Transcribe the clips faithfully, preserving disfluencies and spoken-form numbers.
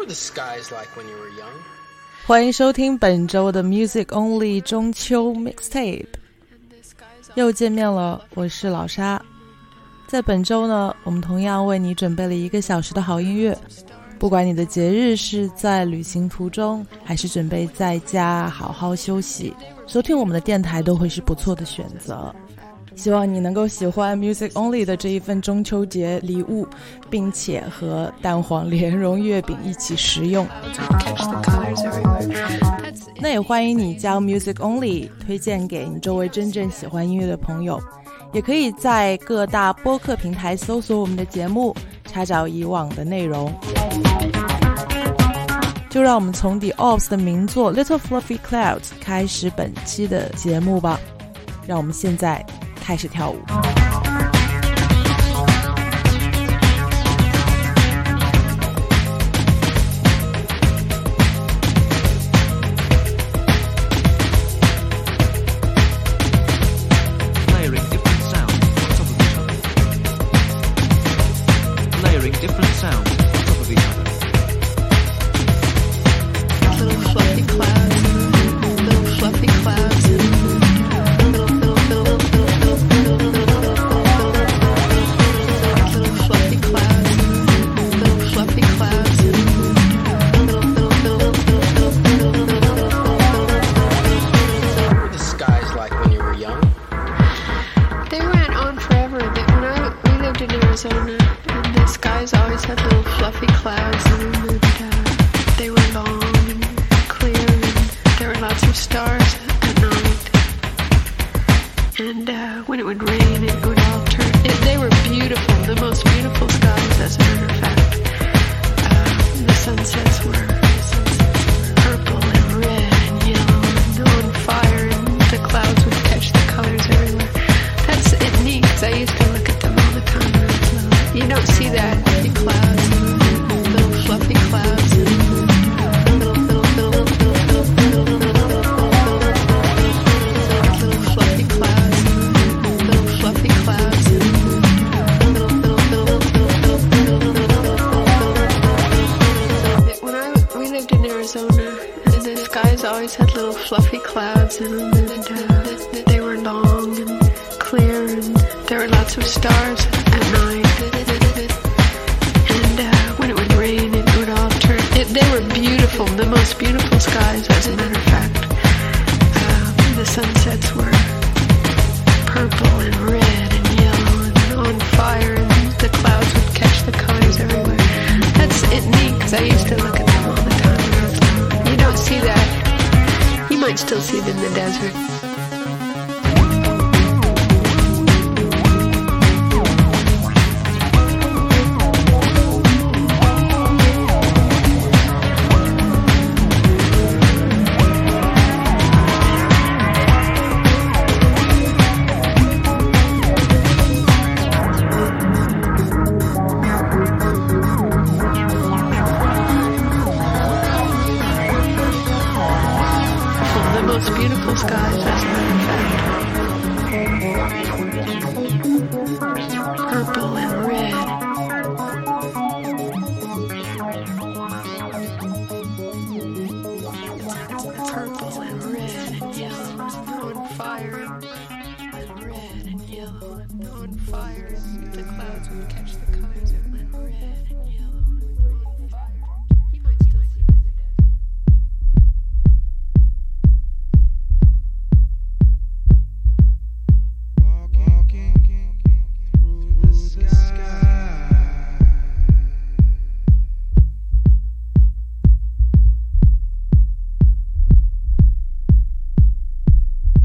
were the skies like when you were young? 欢迎收听本周的 Music Only 中秋 Mixtape。又见面了，我是老沙。在本周呢，我们同样为你准备了一个小时的好音乐。不管你的节日是在旅行途中，还是准备在家好好休息，收听我们的电台都会是不错的选择。希望你能够喜欢 Music Only 的这一份中秋节礼物，并且和蛋黄莲蓉月饼一起食用。那也欢迎你将 Music Only 推荐给你周围真正喜欢音乐的朋友，也可以在各大播客平台搜索我们的节目，查找以往的内容。就让我们从 The Offs 的名作 Little Fluffy Clouds 开始本期的节目吧。让我们现在开始跳舞。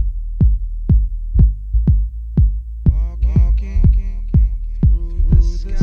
Walking through the sky.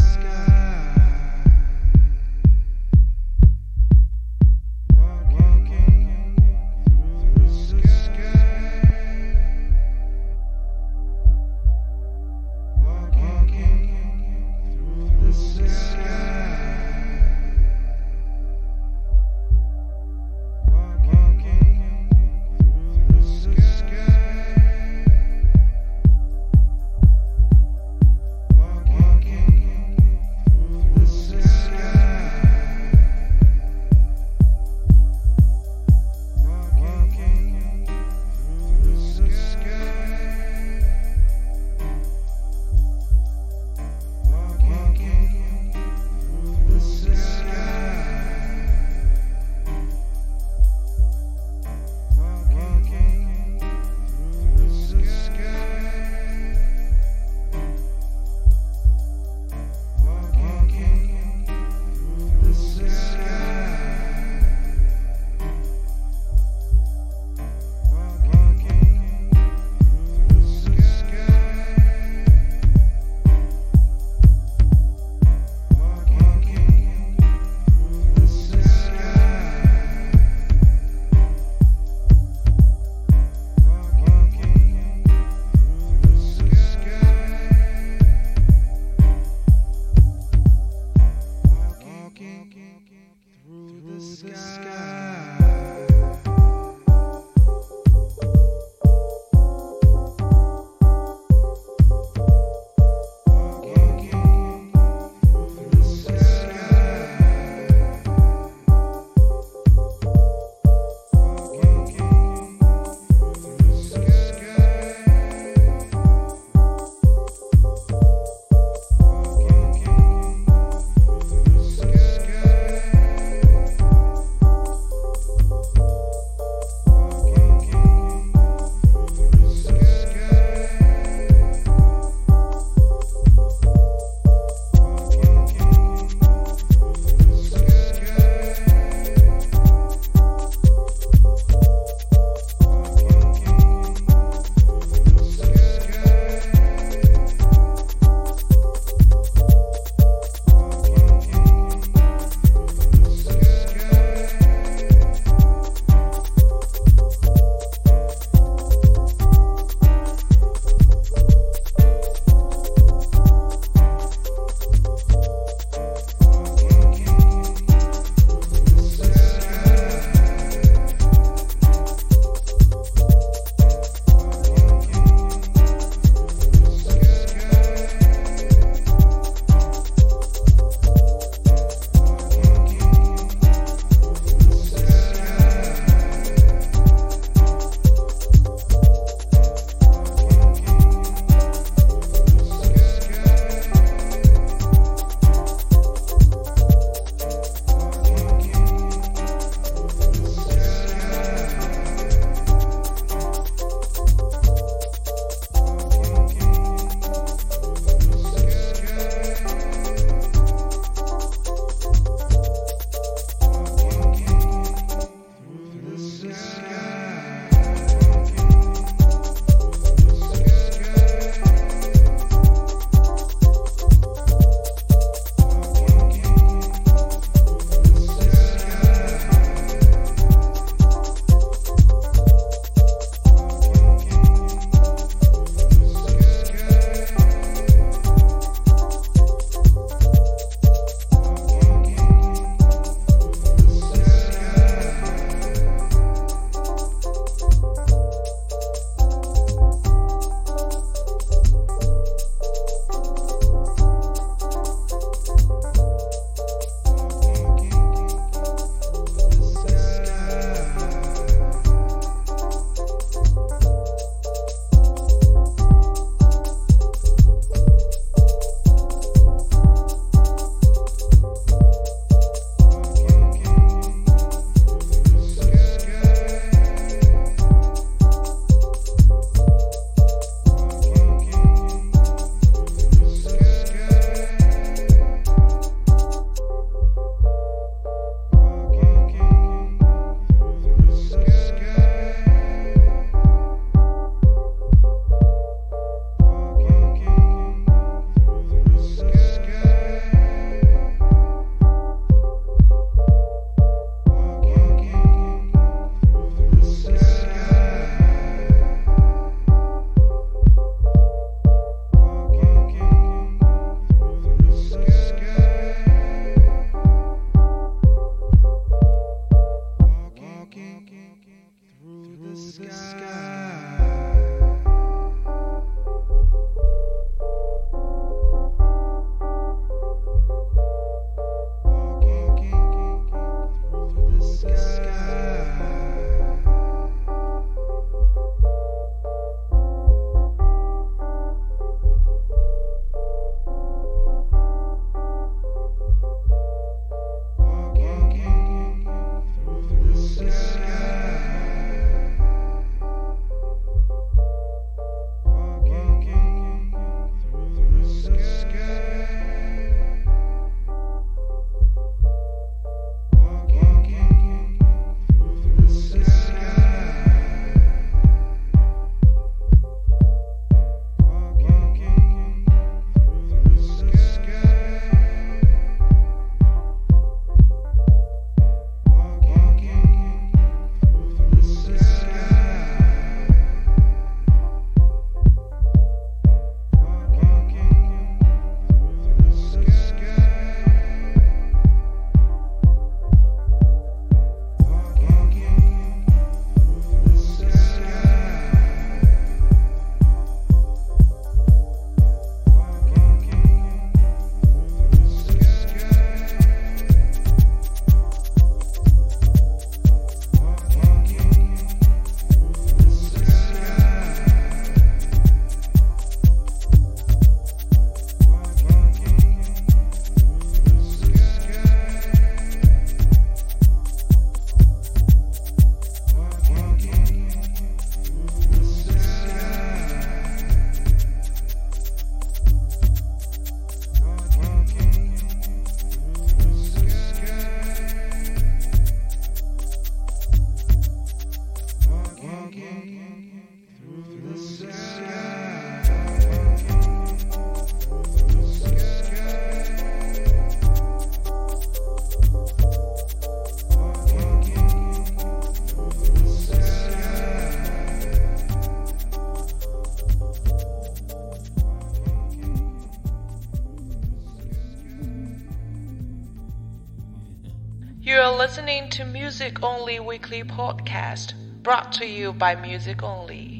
You are listening to Music Only Weekly Podcast, brought to you by Music Only.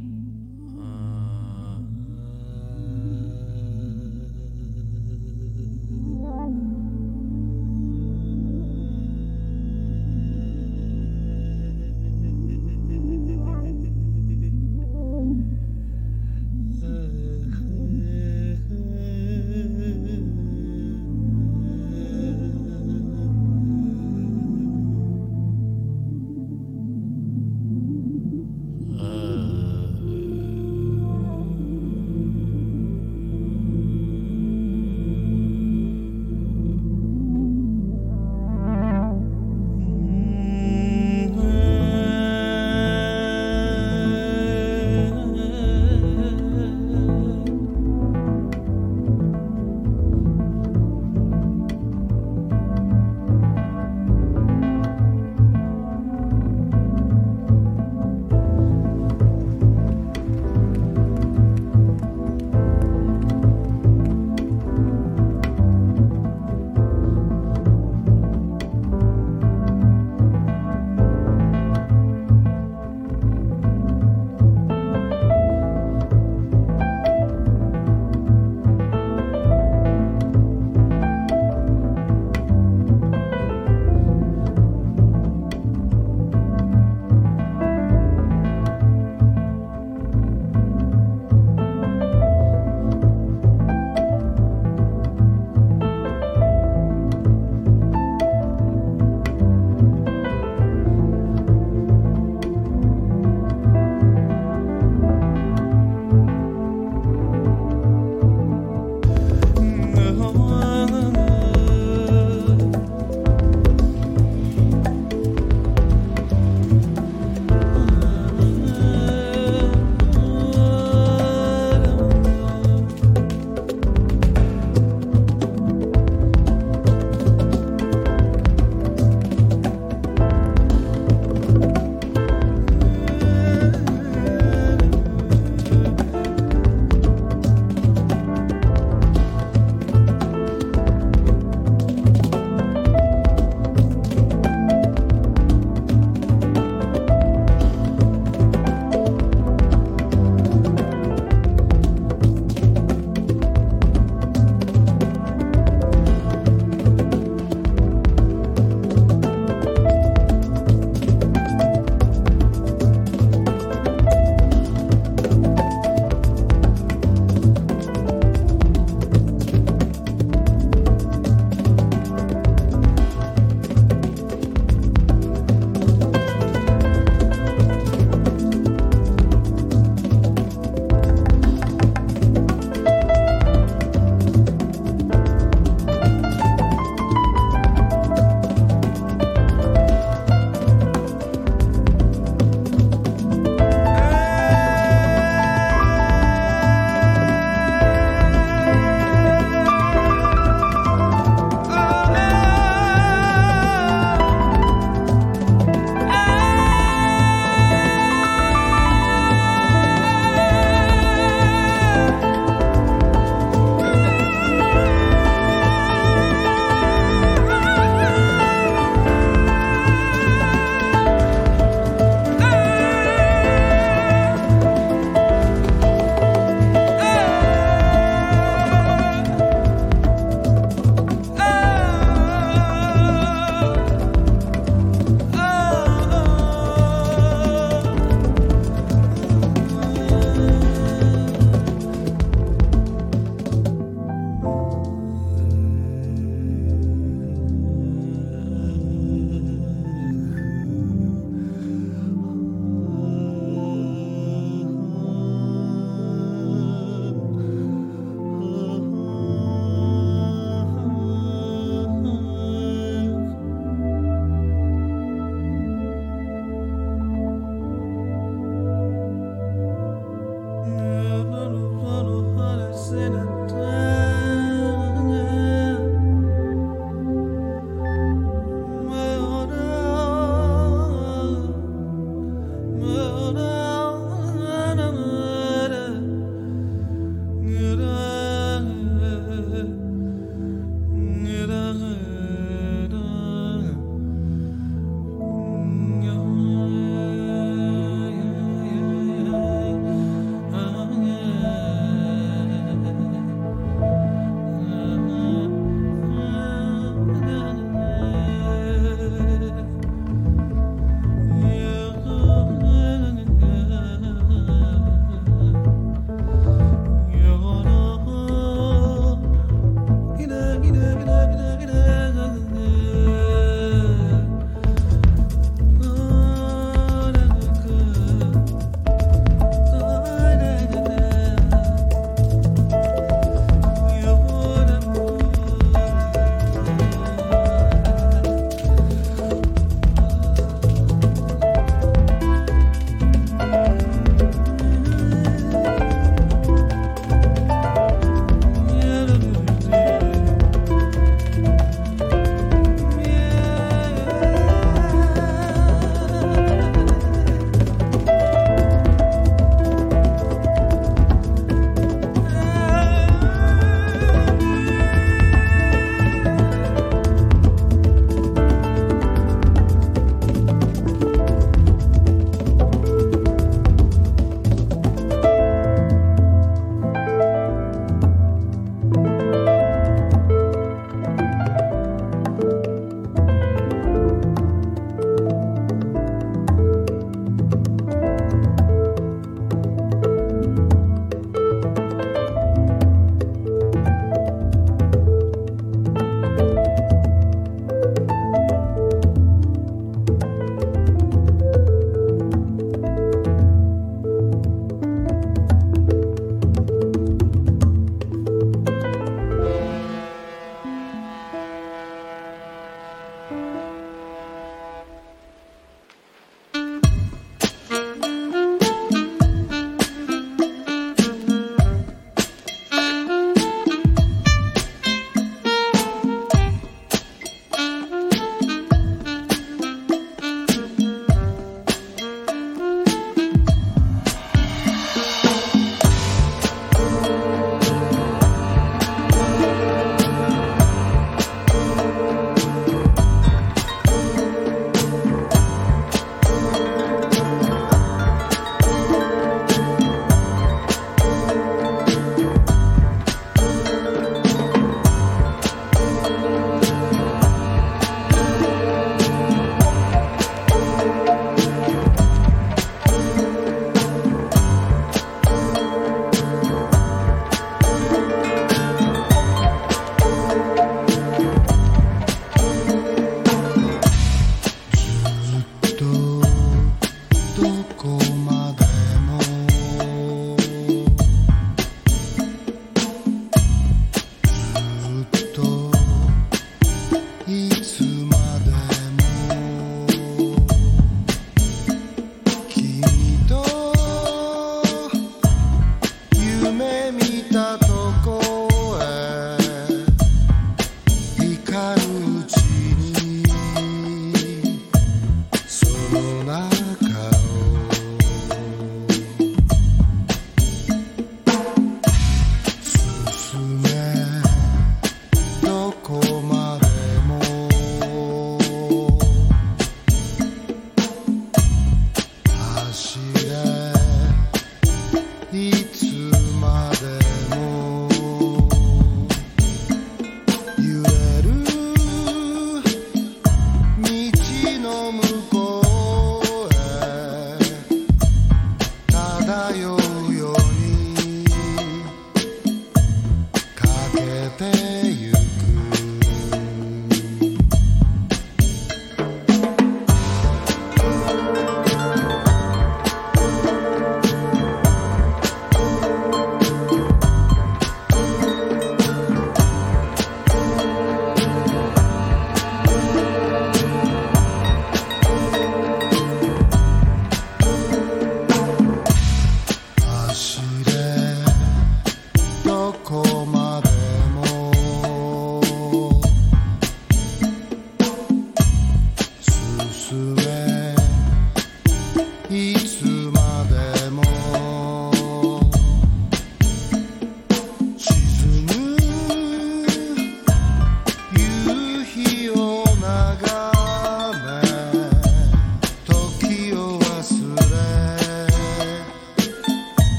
Uh...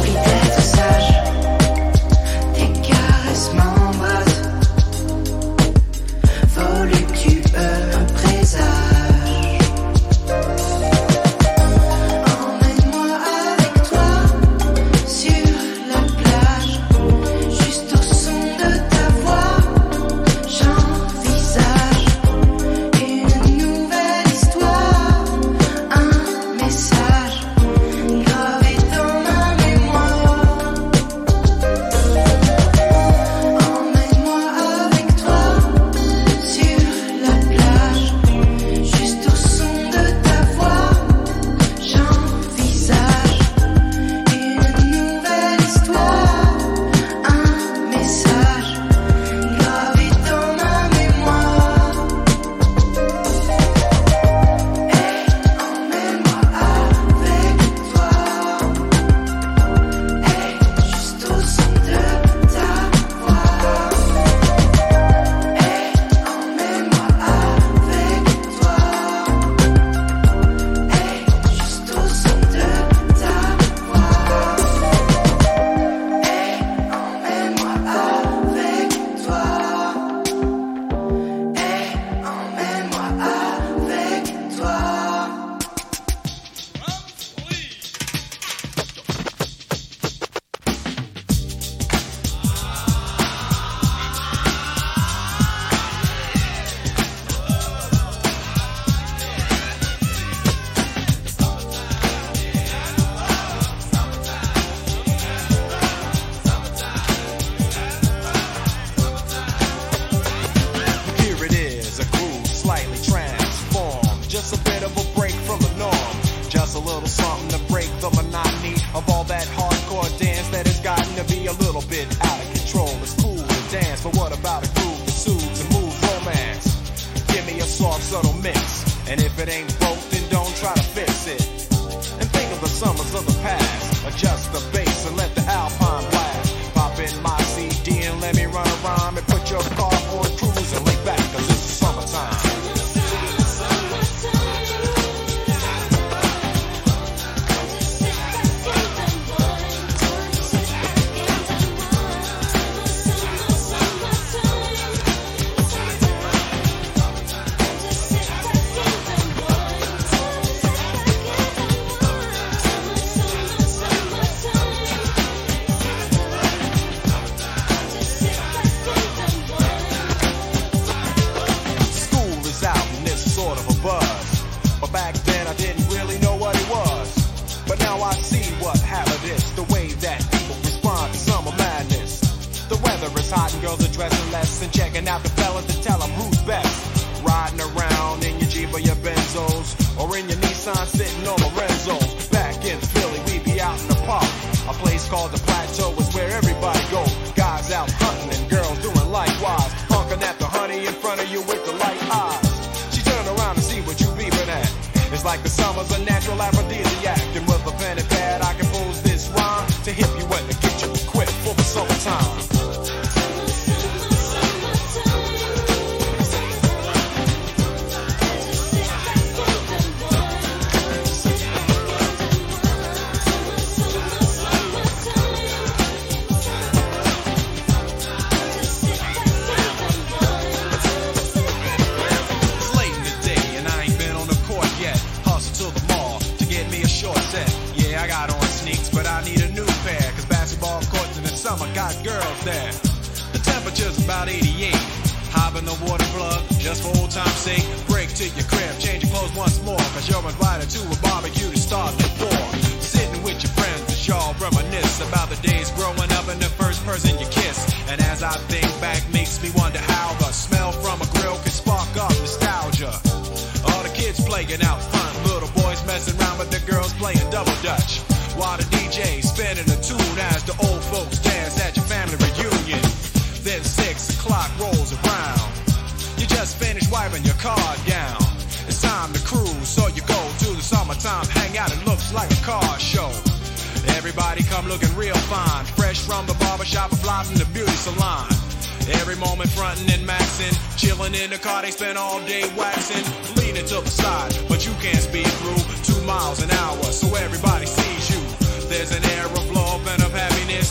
They spend all day waxing, leaning to the side, but you can't speed through two miles an hour, so everybody sees you. There's an air of love and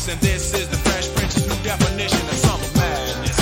this, and this is the Fresh Prince's new definition of summer madness.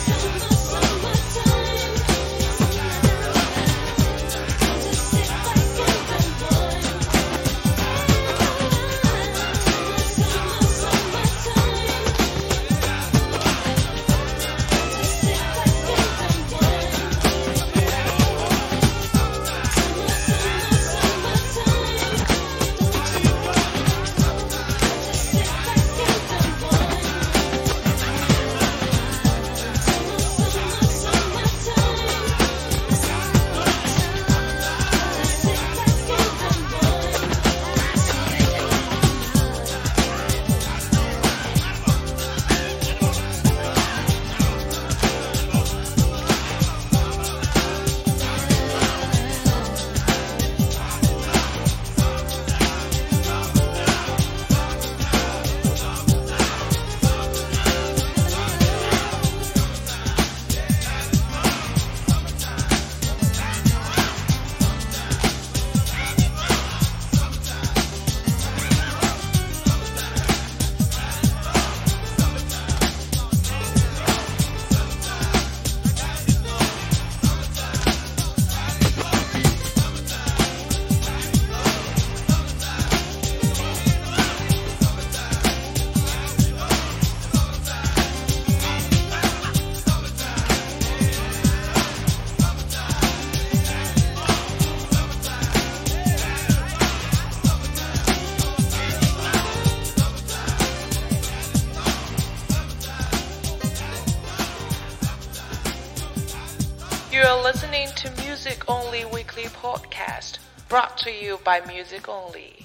You are listening to Music Only Weekly Podcast, brought to you by Music Only.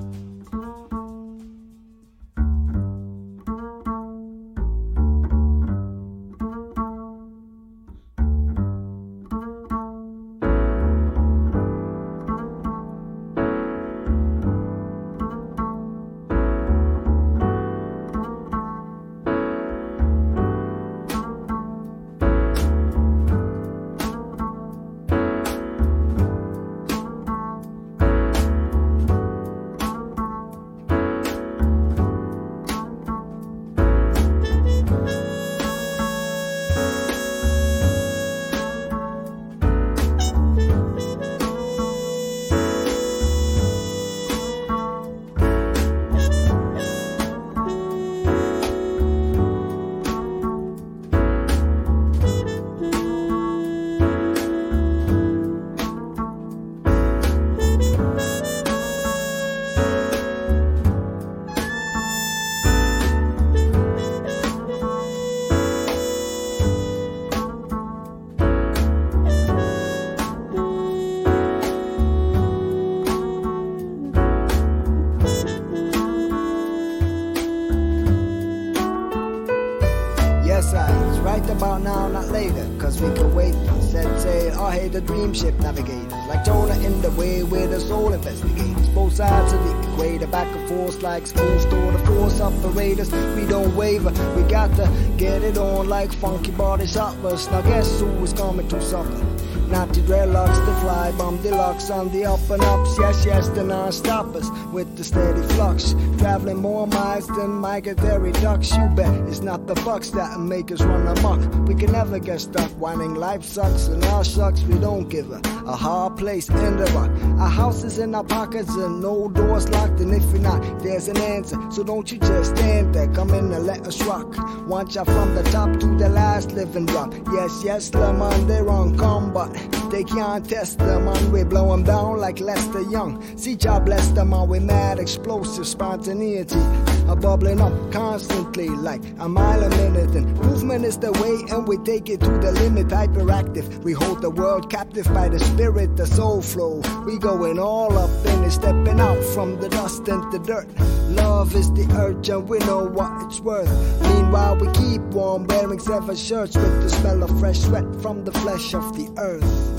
About now, not later, cause we can wait. Set sail, or hey, the dream ship navigators, like Jonah in the way with the soul investigators. Both sides of the equator, back and forth like smooth store. The force operators, we don't waver. We got to get it on like funky body shoppers. Now guess who is coming to suffer? Not the dreadlocks, the fly bomb deluxe on the up and ups. Yes, yes, the non-stoppers with the steady flux. Traveling more miles than migratory ducks. You bet it's not the bucks that make us run amok. We can never get stuck whining life sucks. And our shucks, we don't give a, a hard place in the rock. Our house is in our pockets and no doors locked. And if you're not, there's an answer. So don't you just stand there, come in and let us rock. Want ya from the top to the last living drop. Yes, yes, them on their own come, but they can't test them on. We blow them down like Lester Young. See ya bless them on with mad explosive spontaneity. A bubbling up constantly like a mile a minute. And movement is the way and we take it to the limit. Hyperactive, we hold the world captive by the spirit, the soul flow. We going all up in it, stepping out from the dust and the dirt. Love is the urge and we know what it's worth. Meanwhile we keep warm, wearing seven shirts with the smell of fresh sweat from the flesh of the earth.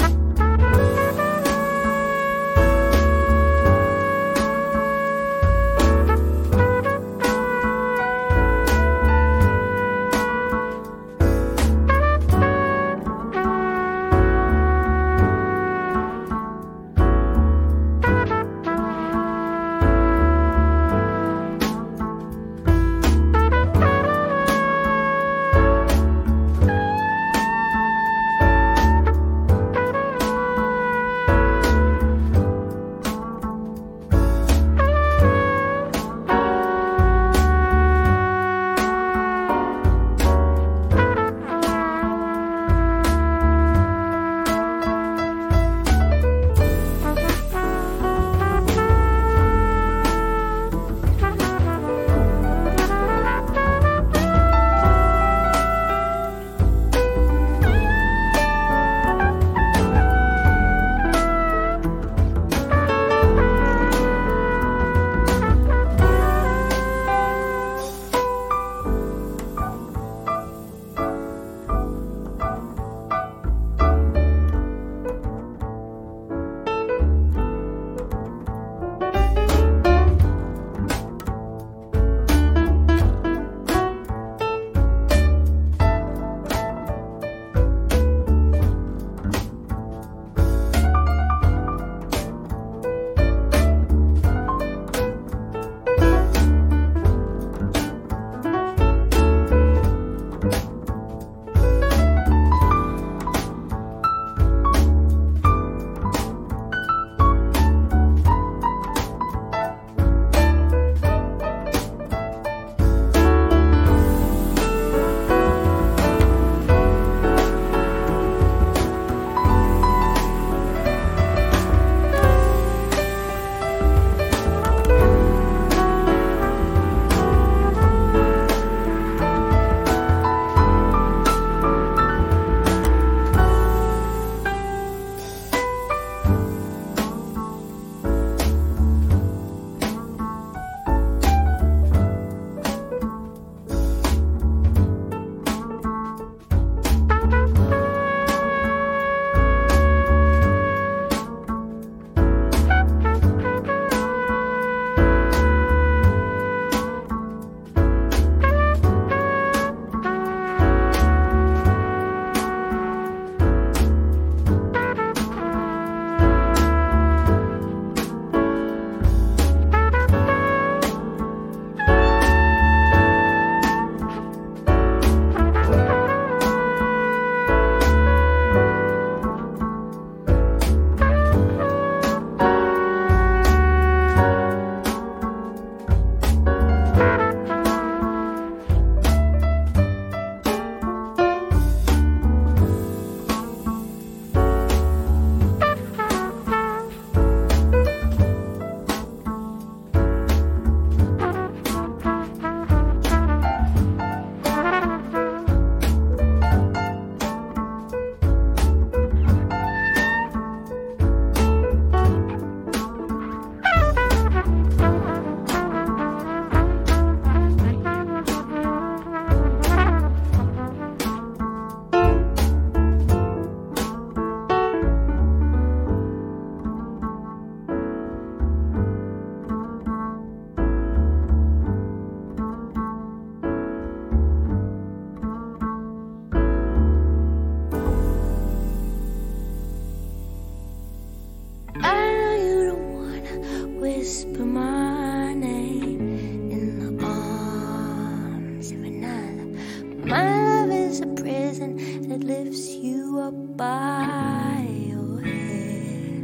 My love is a prison and it lifts you up by your hair.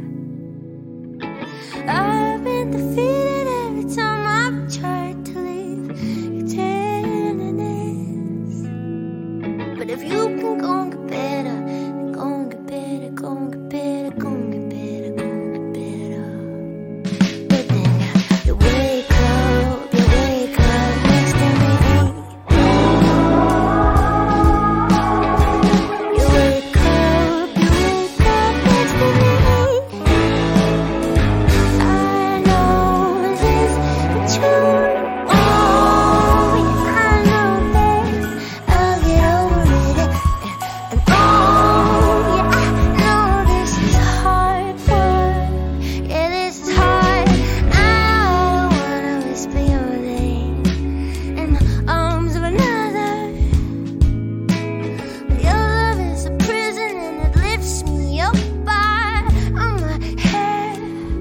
I've been defeated every time I've tried to leave your tenderness. But if you can go and get better, then go and get better, go and get better, go and get better, go and get better. But then you wake up, you wake up next to me. You wake up, you wake up next to me. I know this is true. Oh, yeah, I know this. I'll get over it. And oh, yeah, I know this is hard work. Yeah, this is hard. I don't wanna whisper your name in the arms of another. But your love is a prison and it lifts me up by on my head.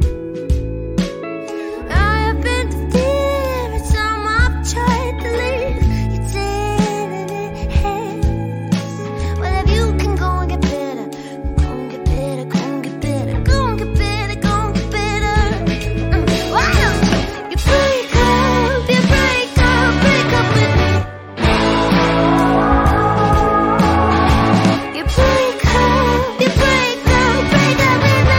I have been defeated every time I've tried to leave your tender hands. Well, if you can go and get better, go and get better, go and get better, go and get better, go and get better. Mm. Why don't you break up, you break up, break up with me. You break up, you break up, break up with me.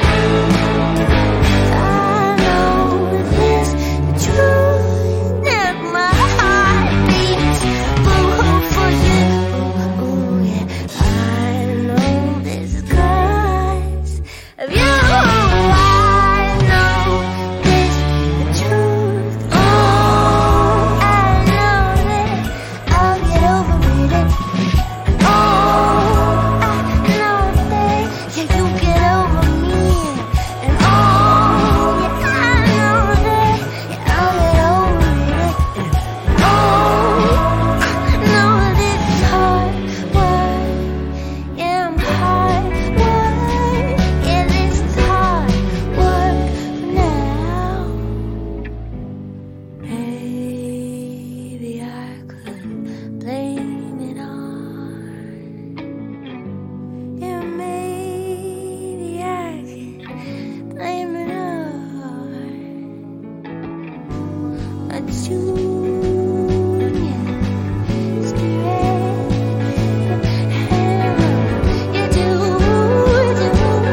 I know this the truth that my heart beats boo-hoo for you. Ooh, yeah, I know this is 'cause of you. I know this the truth. Oh, I know that I'll get over it. And oh, I know that yeah, you get over me. And oh, yeah, I know that yeah, I'll get over it. And oh, I know this is hard work. Yeah, I'm hard work. Yeah, this is hard work for now. Maybe I could blame it on. Yeah, maybe I could blame it on a junior spirit. You do, do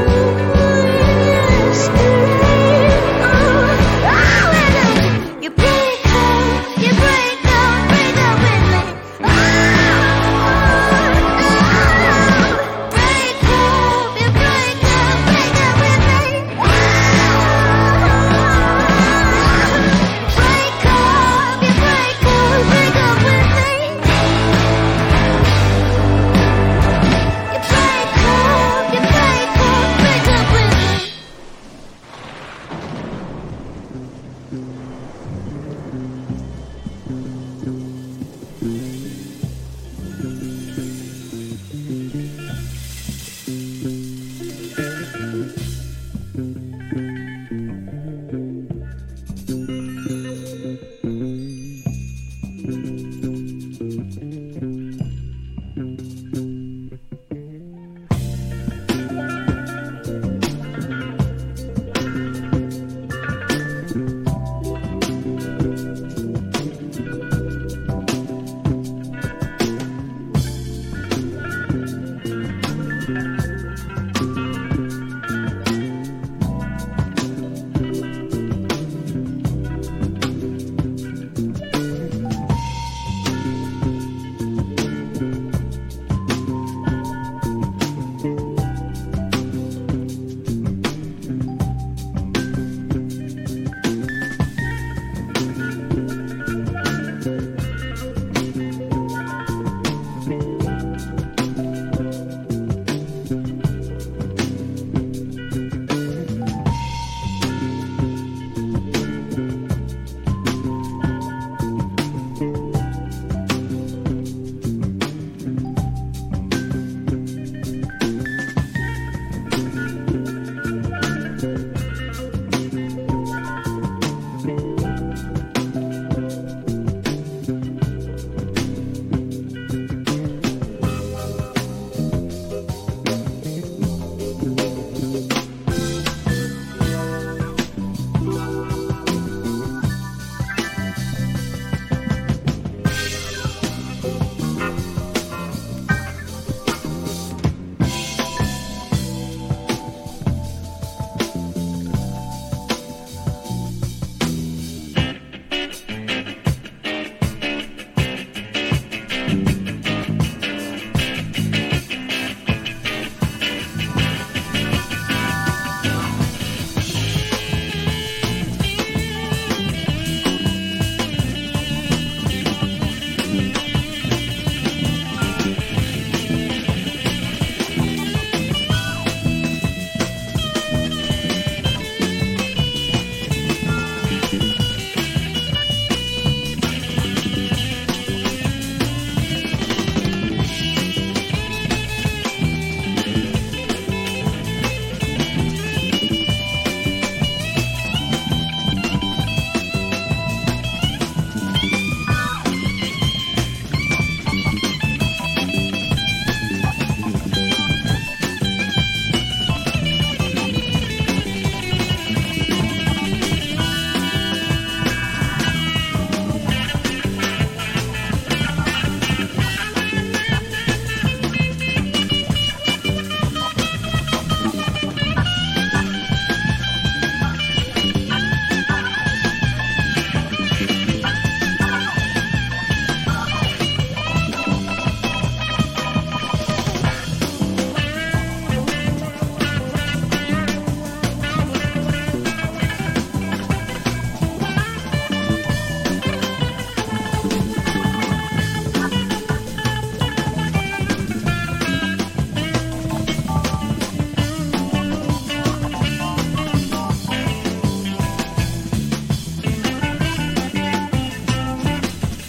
spirit. Oh, you break up, you break up, break up with me. Oh, break up, you break up, break up with me. Break up, you break up, break up with me. You break up, you break up, break up with me.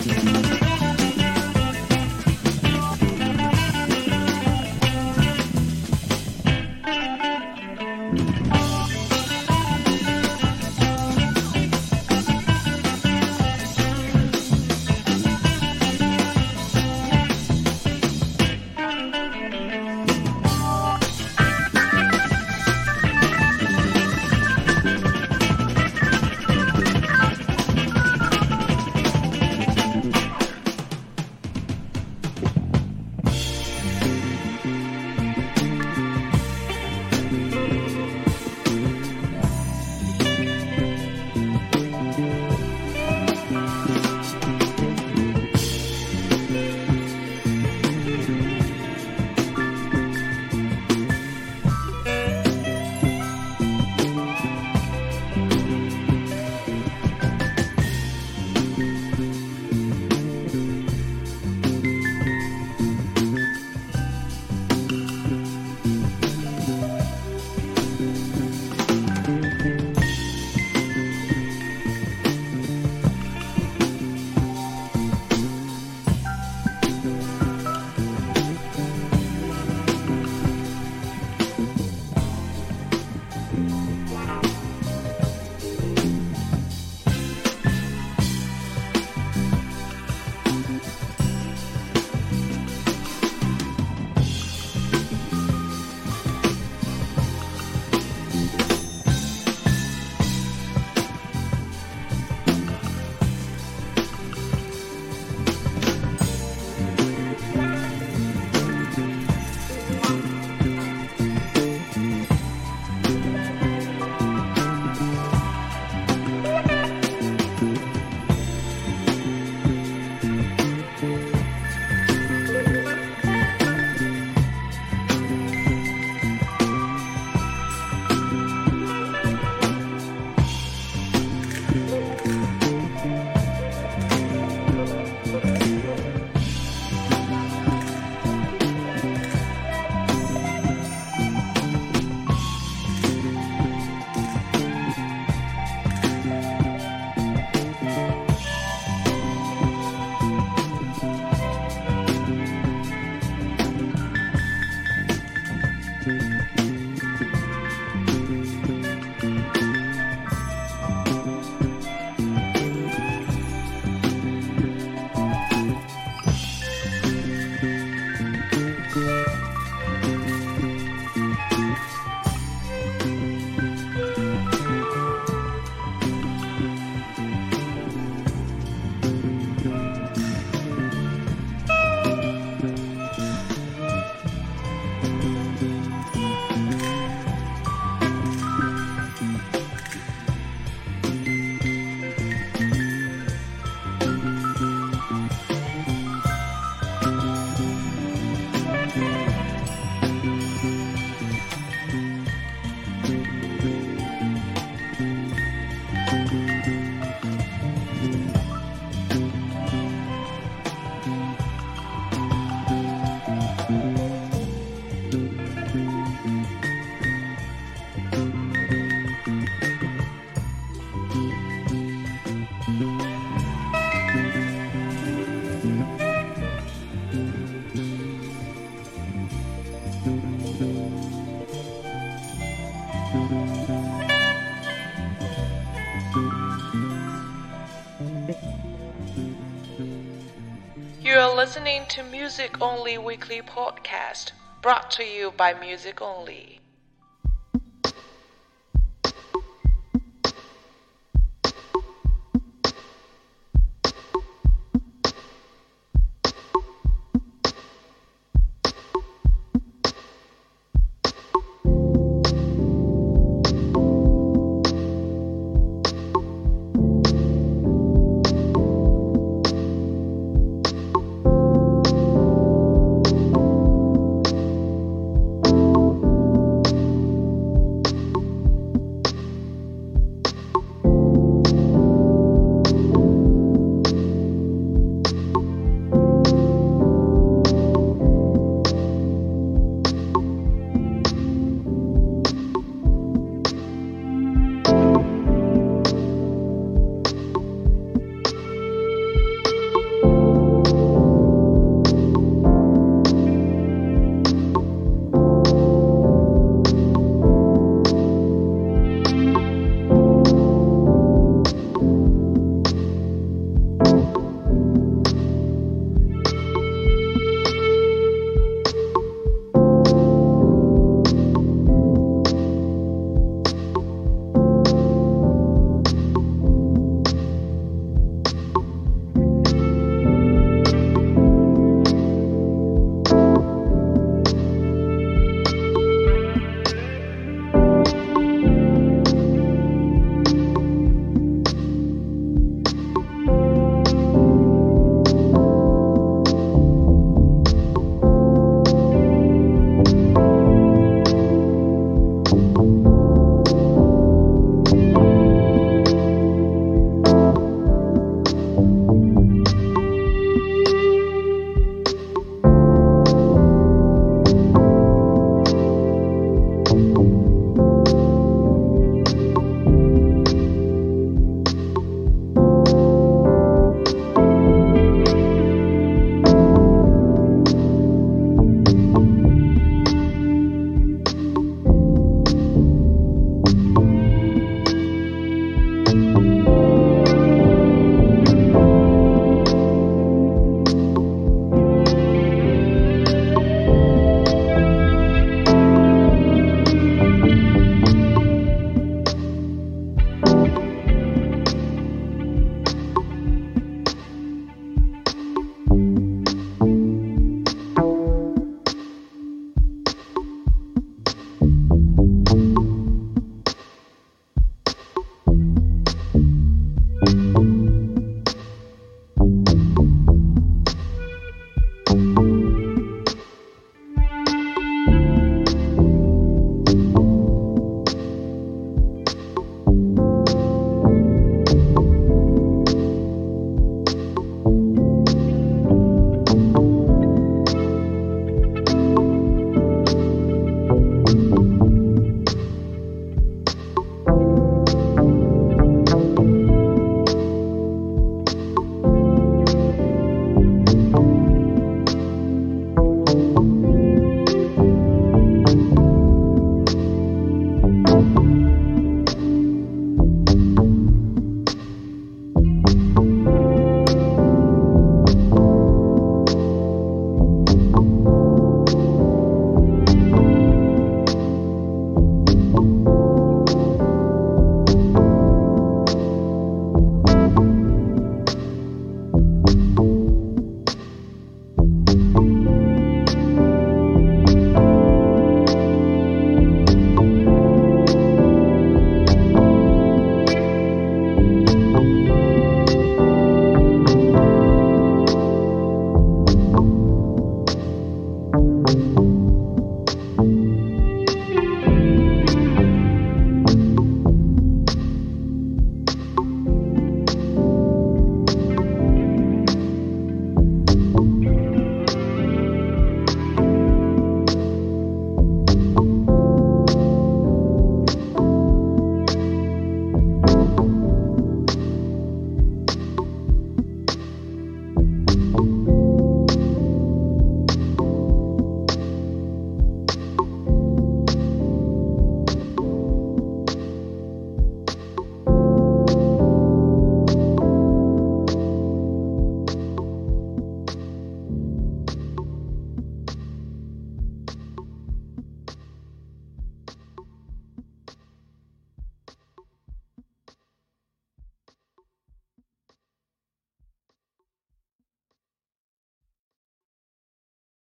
You are listening to Music Only Weekly Podcast, brought to you by Music Only.